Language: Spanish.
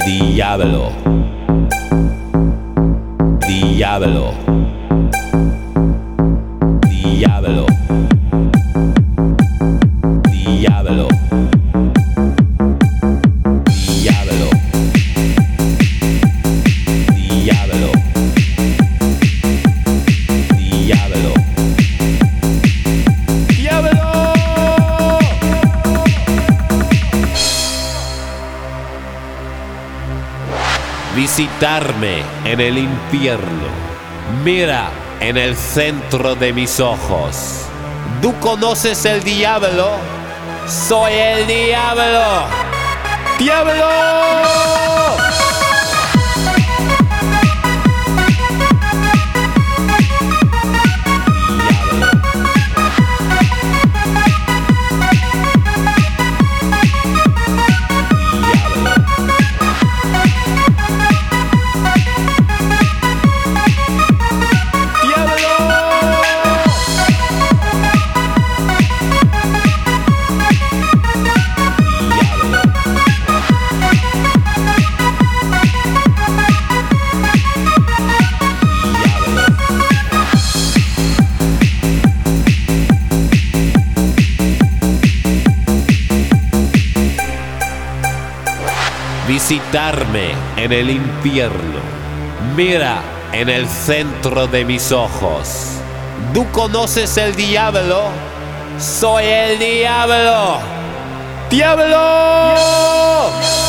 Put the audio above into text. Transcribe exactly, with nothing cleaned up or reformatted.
Diablo, diablo, diablo, diablo, diablo, diablo, diablo, diablo. Visitarme en el infierno. Mira en el centro de mis ojos. ¿Tú conoces el diablo? Soy el diablo. ¡Diablo! Visitarme en el infierno. Mira en el centro de mis ojos. ¿Tú conoces el diablo? Soy el diablo. ¡Diablo!